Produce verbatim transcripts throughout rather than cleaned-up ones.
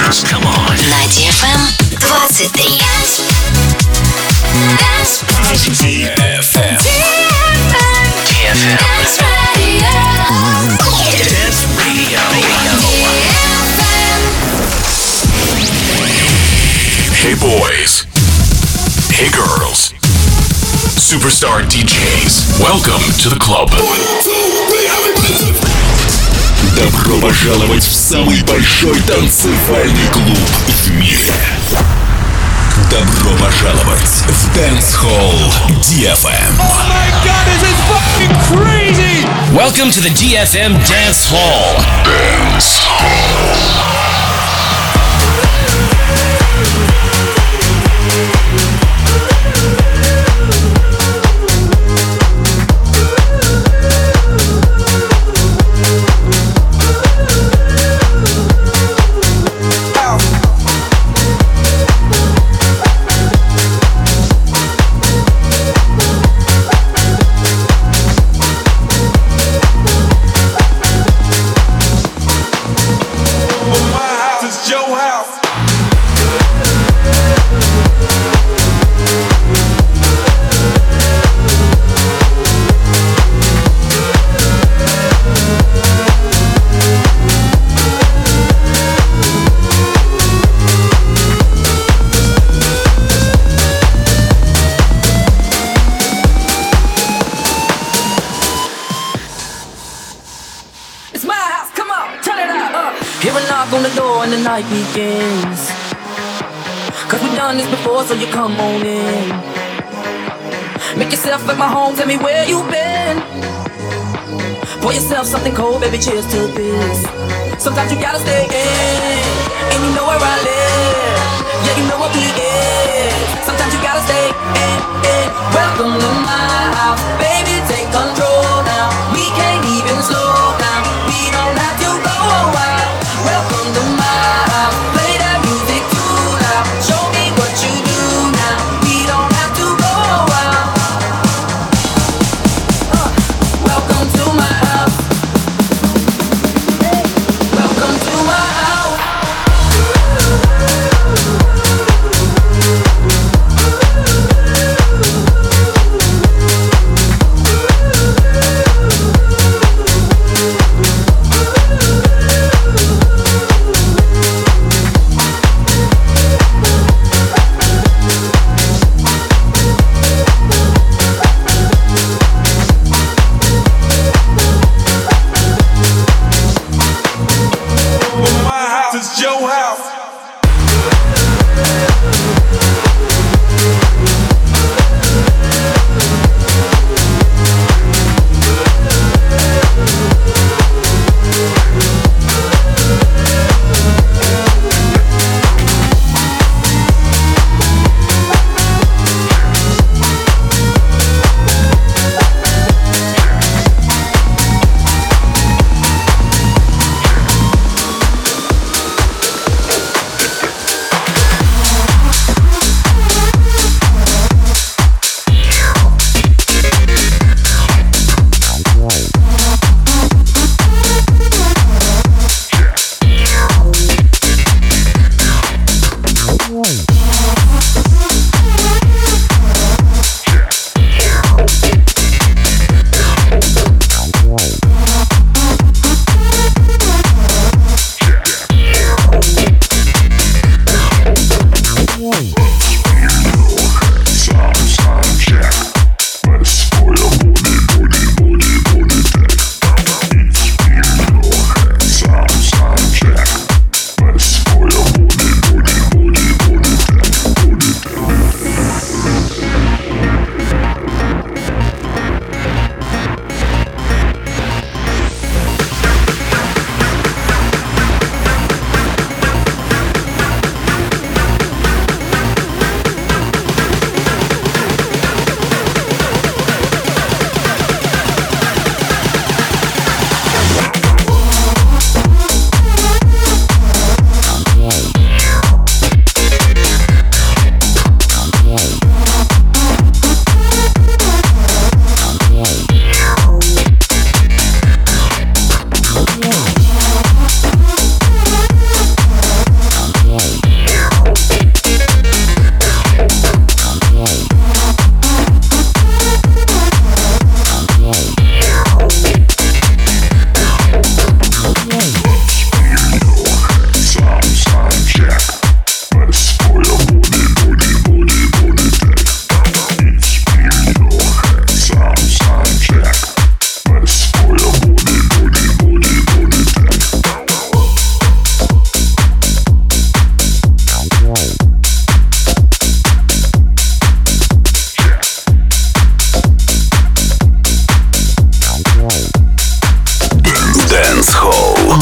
dance. Come on. На ди эф эм двадцать три. ди эф эм. ди эф эм. Dance Radio. Hey boys. Hey girls. Superstar ди джейс. Welcome to the club. Добро пожаловать в самый большой танцевальный клуб в мире. Добро пожаловать в Dance Hall ди эф эм. Oh my god, this is fucking crazy! Welcome to the ди эф эм Dance Hall. Dance Hall. The night begins, cause we've done this before, so you come on in. Make yourself at my home, tell me where you've been. Pour yourself something cold, baby, cheers to this. Sometimes you gotta stay in, and you know where I live. Yeah, you know what we is. Sometimes you gotta stay in, in. Welcome to my house, baby, take control now. We can't even slow down, we don't have to go a while. Welcome to my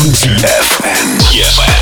ди эф эм. ди эф эм.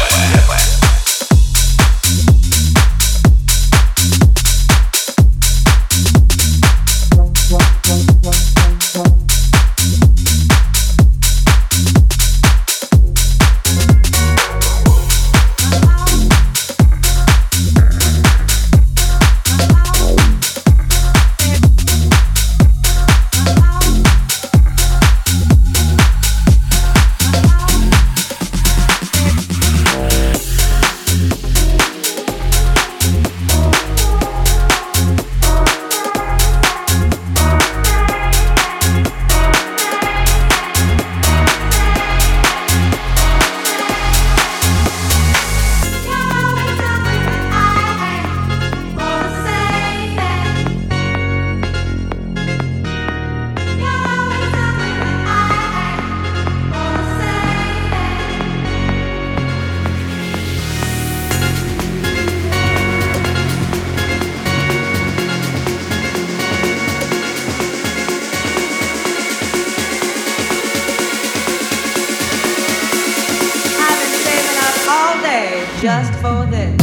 Just for this.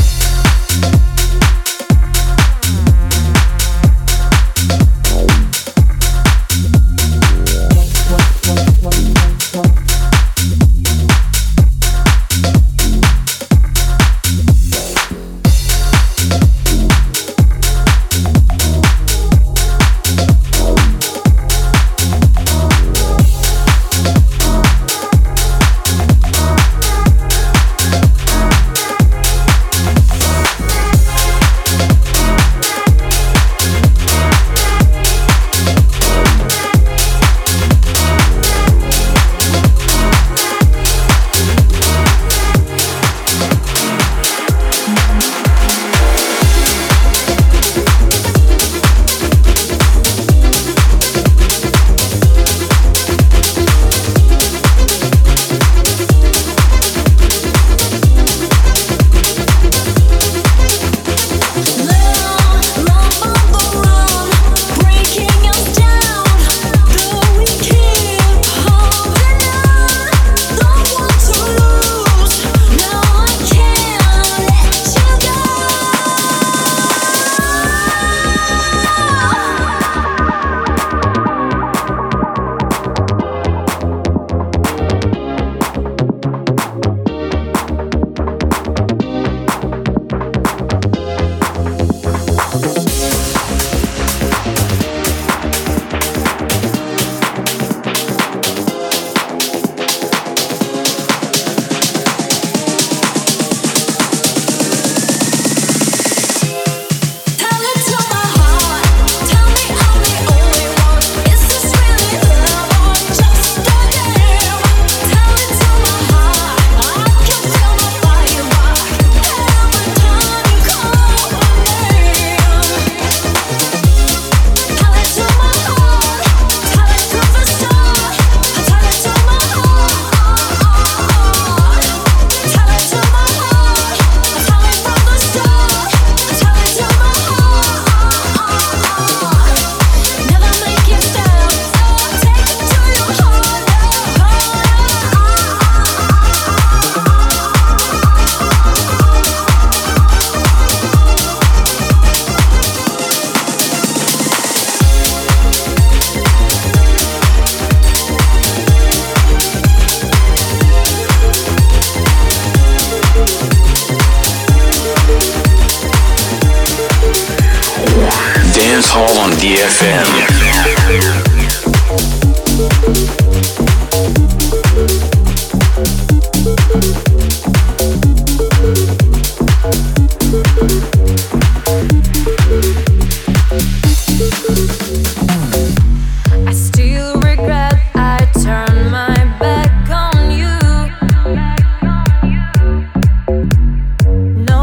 Hall on ди эф эм.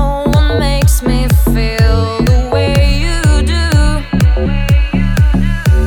Makes me feel the way you do.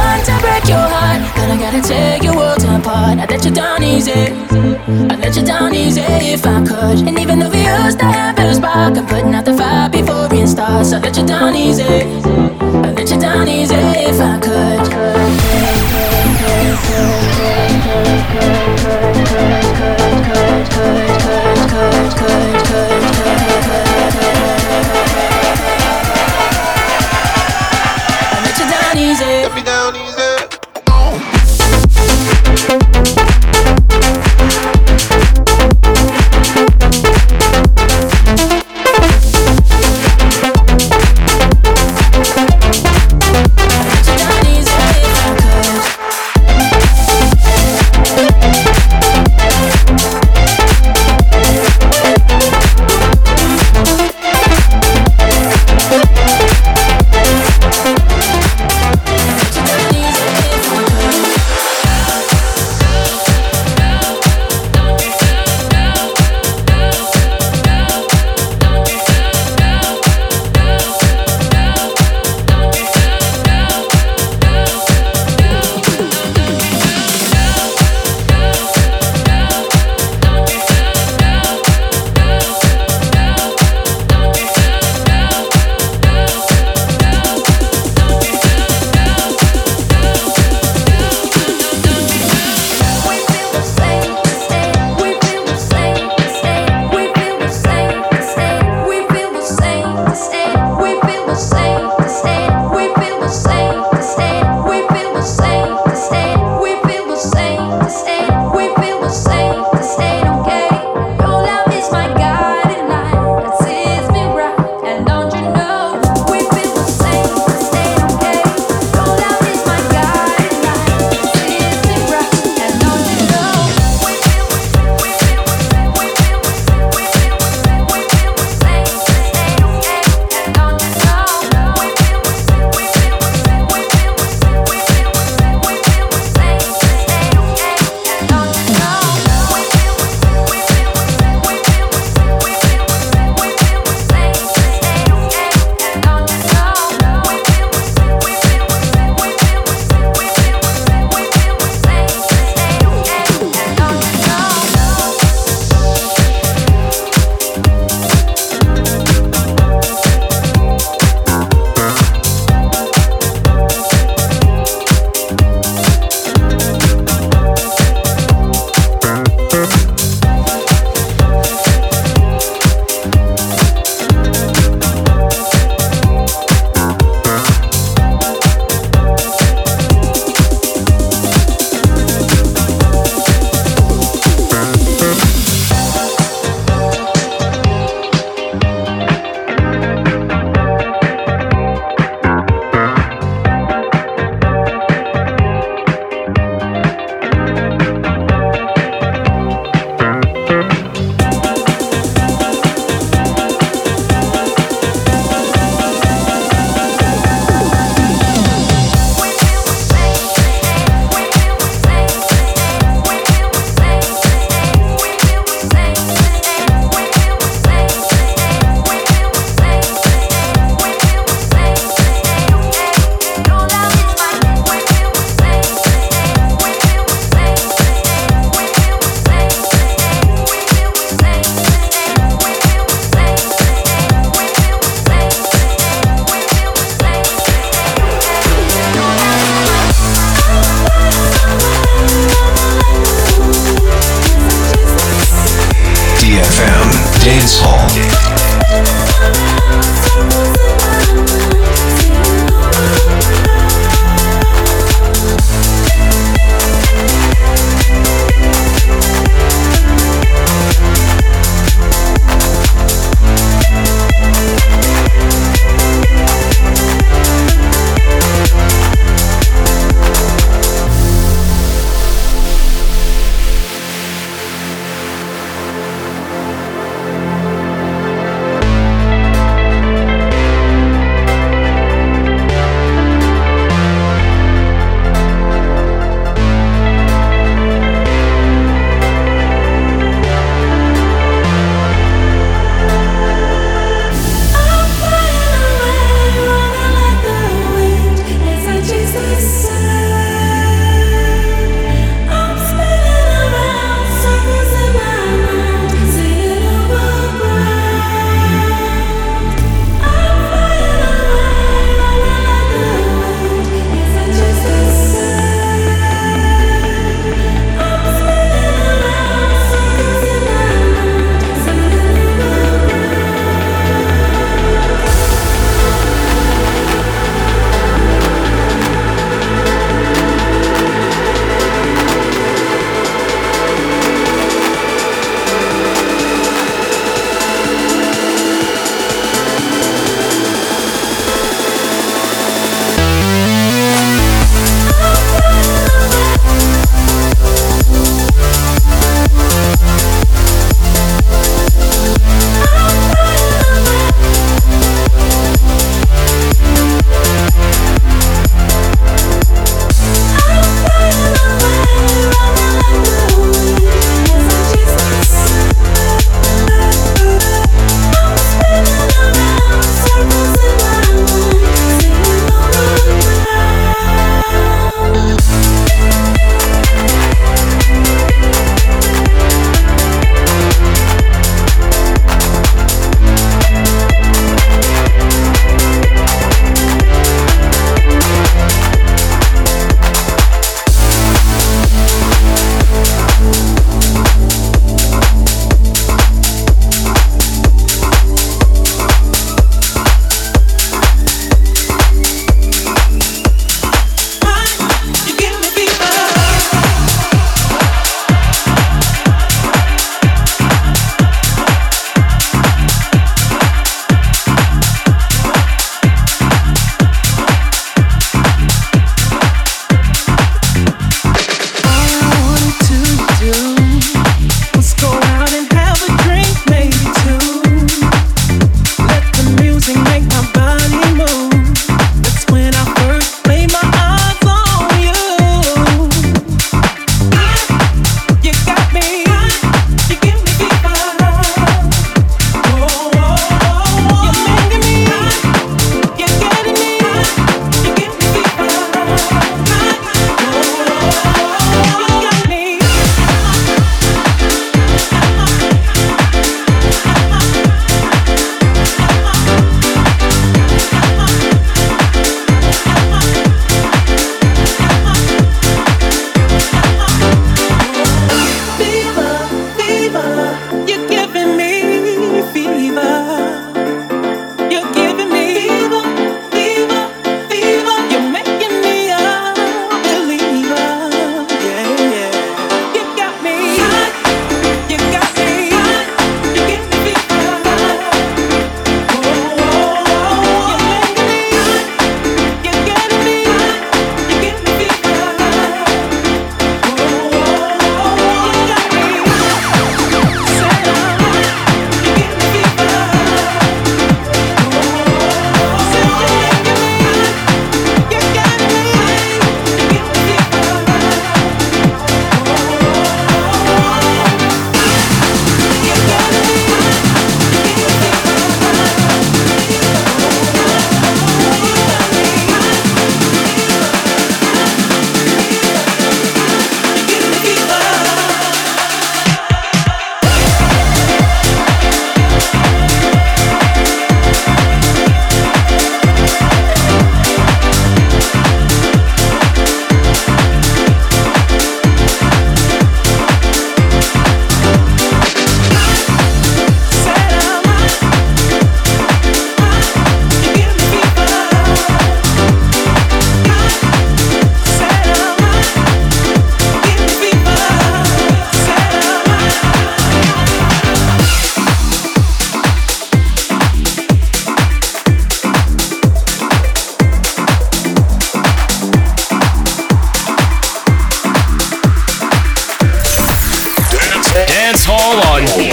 one to break your heart. Gonna gotta take your world apart. I let you down easy, I let you down easy if I could. And even though we used to have a spark, I'm putting out the fire before it starts. I let you down easy, I let you down easy if I could. I let you down easy. Let me down easy. Easy.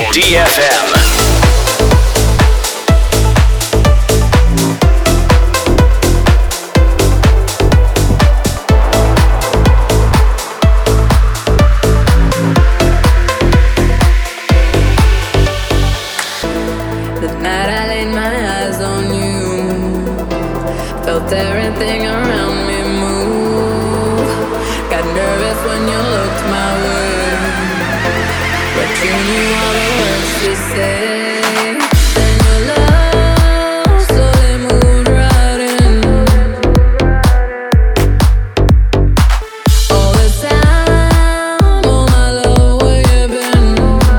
D F M. Everything around me move. Got nervous when you looked my way, but you knew all the words to say. Then your love slowly moved right in. All this time, oh my love, where you been?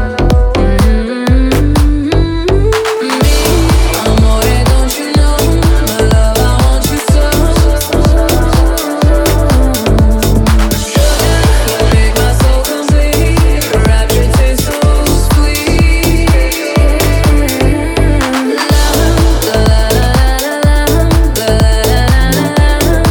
Mm-hmm. Me, amore, don't you know? My love, I want you so. You make my soul complete. Rapture tastes so sweet. Love, la la la la la, la la la la.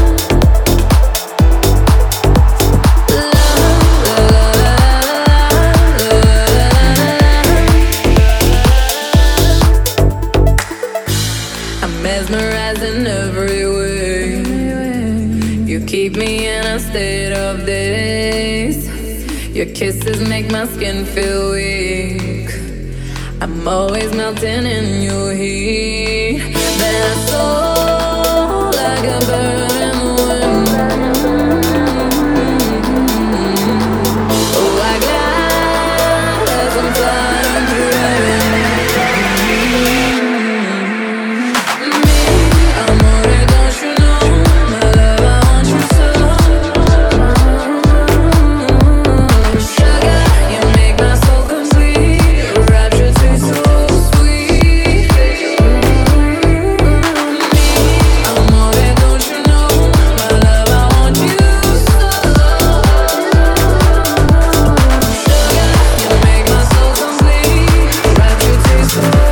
I'm mesmerized in every way. You keep me in a state of daze. Your kisses make my skin feel weak. I'm always melting in your heat. Then I soar like a bird in the wind. Oh, I glide as I'm flying through heaven. Me, amore, don't you know? My love, I want you so. Sugar, you make my soul complete. Rapture tastes so sweet. Me, amore, don't you know? My love, I want you so. Sugar, you make my soul complete. Rapture tastes so sweet.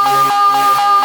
We'll be right back.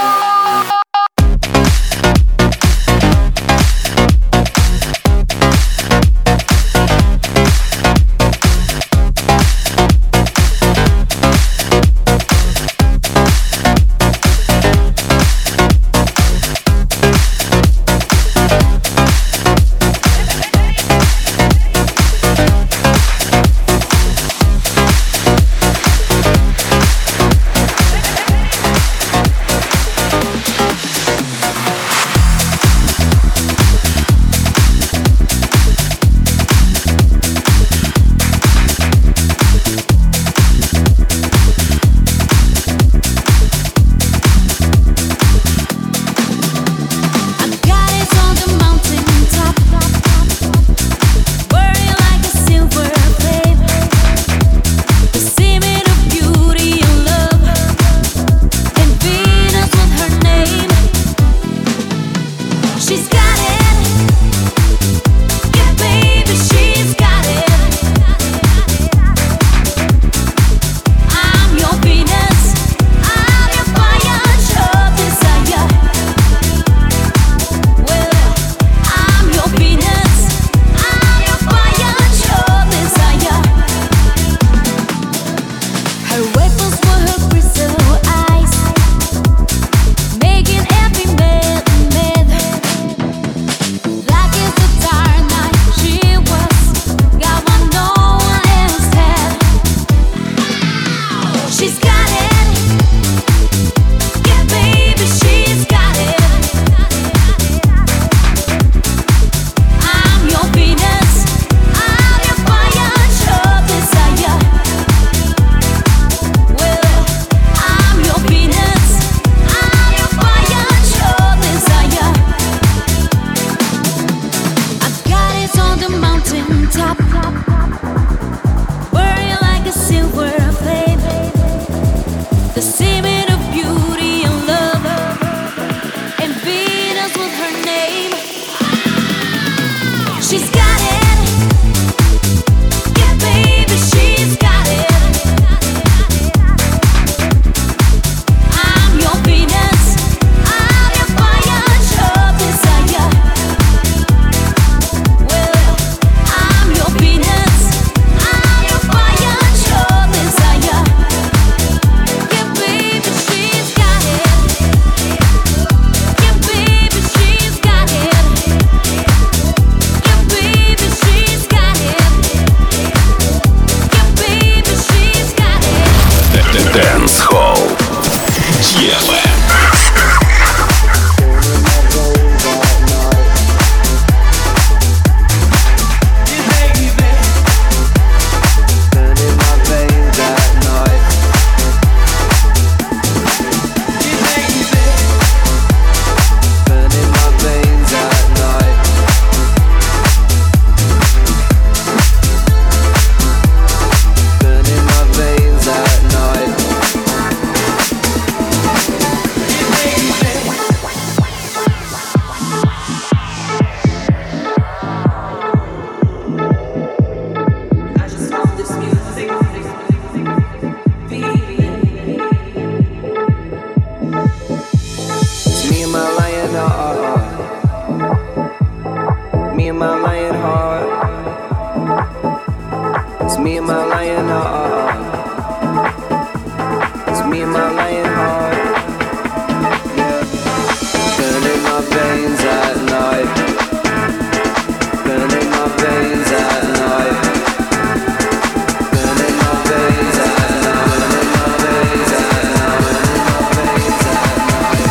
lion heart. It's me and my lion heart. It's me and my lion heart. Yeah. Burning my veins at night. Burning my veins at night. Burning my veins at night. Burning my veins at night. Burning my veins at night.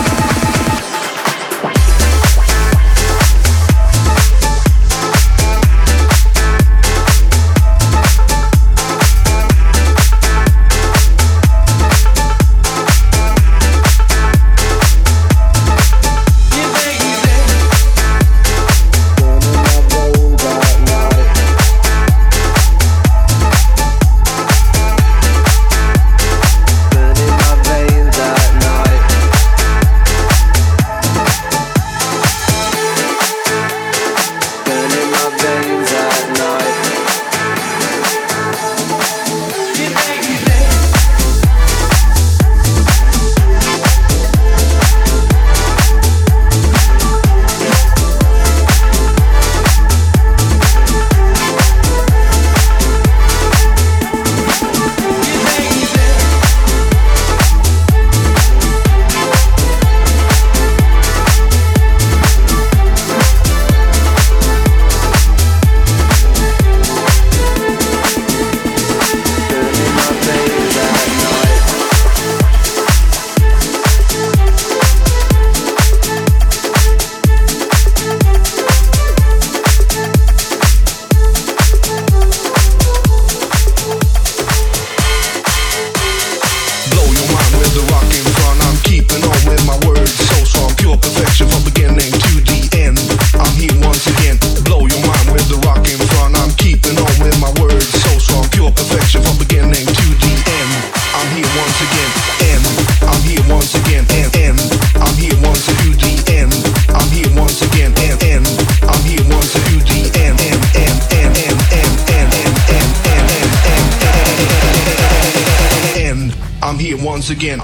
Once again.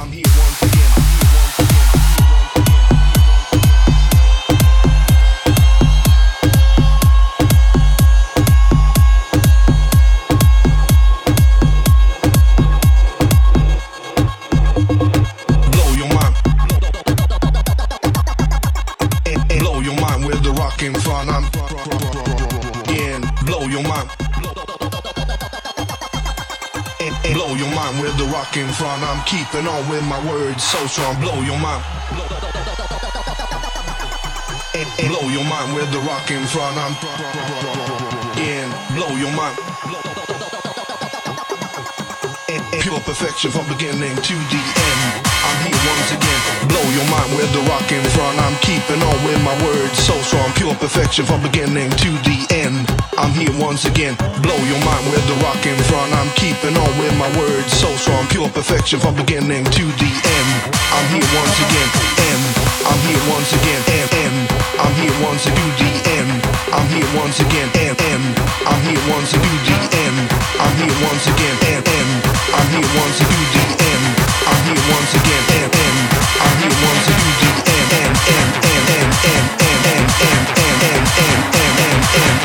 I'm keeping on with my words so strong, blow your mind. Blow your mind with the rock in front. I'm in, blow your mind. Pure perfection from beginning to the end. I'm here once again, blow your mind with the rock in front. I'm keeping on with my words so strong, pure perfection from beginning to the end. I'm here once again, blow your mind with the rock in front. I'm keeping on with my words so strong, pure perfection from beginning to the end. I'm here once again, end. I'm here once again, end, end. I'm here once to do the end. I'm here once again, end, end. I'm here once to do the end. I'm here once again, end, end. I'm here once to do the end. I'm here once again, end, end. I'm here once to do the end, end, end, end, end, end, end, end, end, end, end, end, end, end,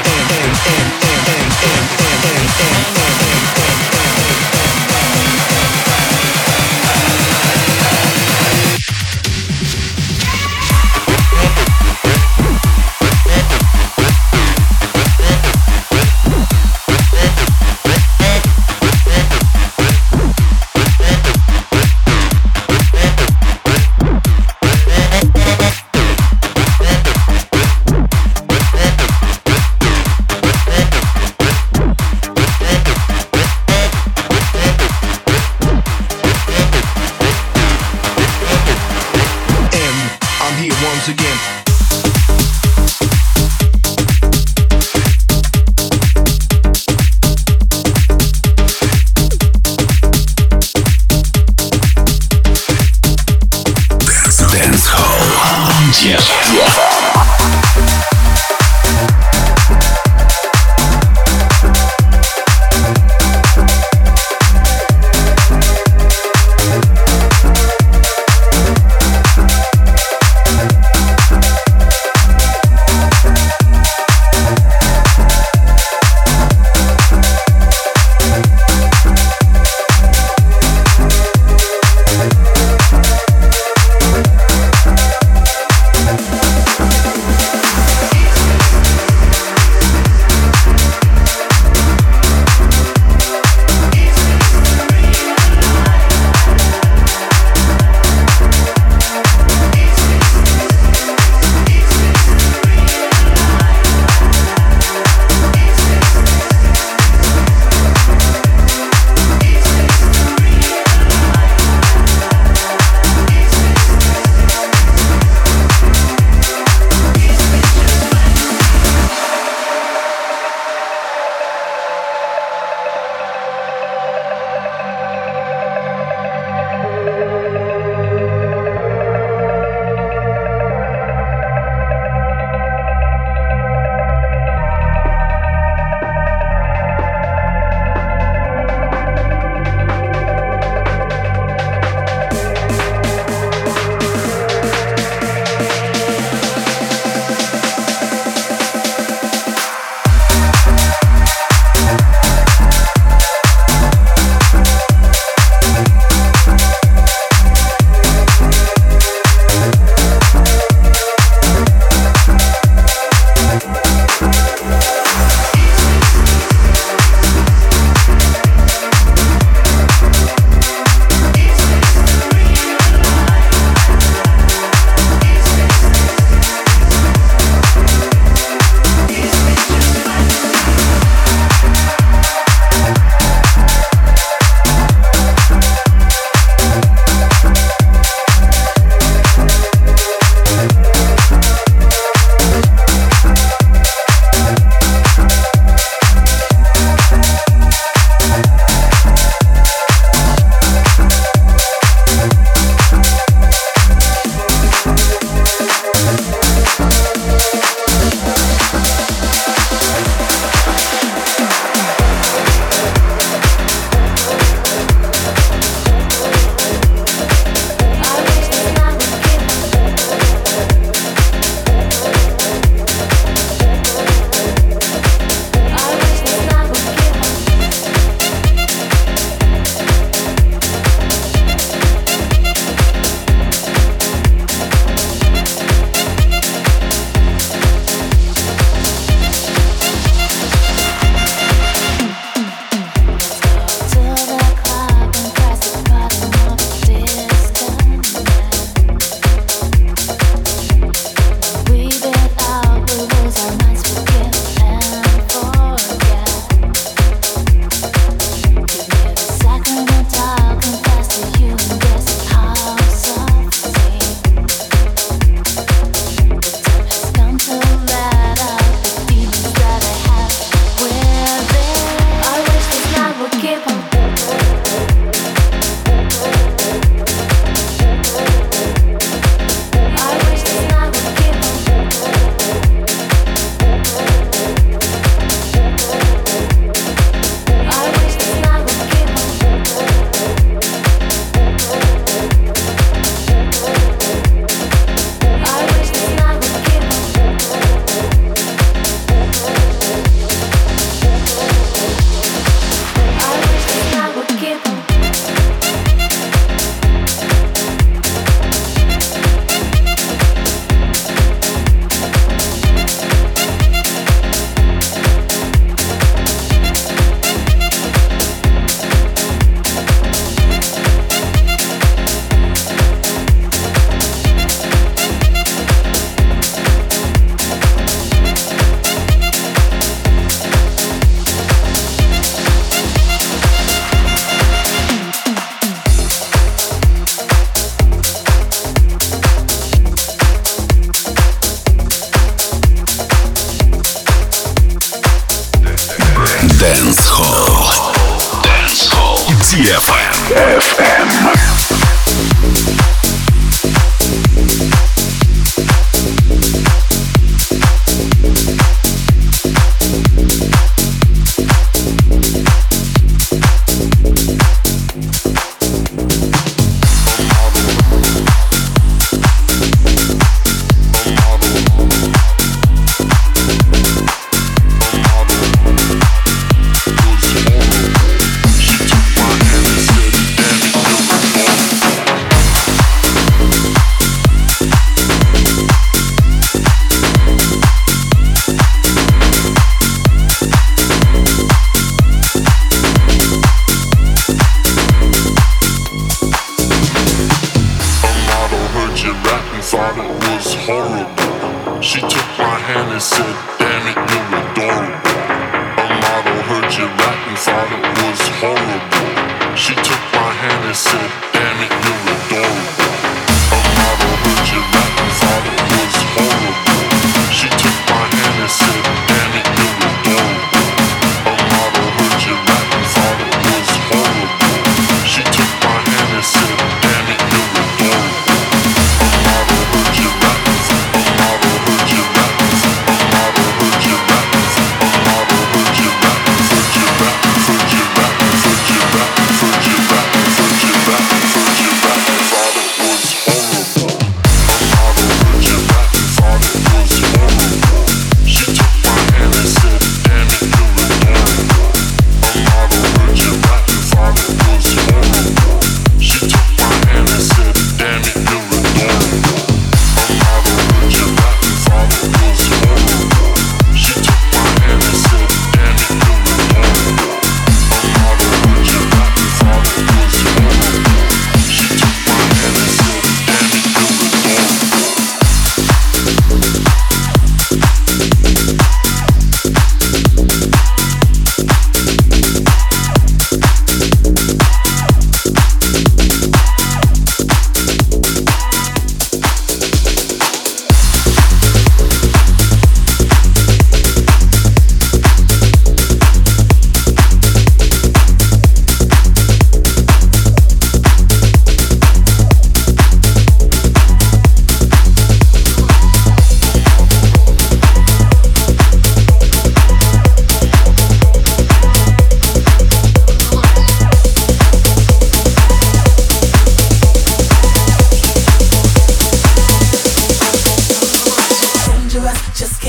Dance Hall. Dance Hall. ди эф эм. эф эм.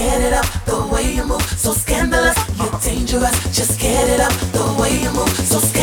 So scandalous, you're dangerous. Just get it up the way you move. So scandalous.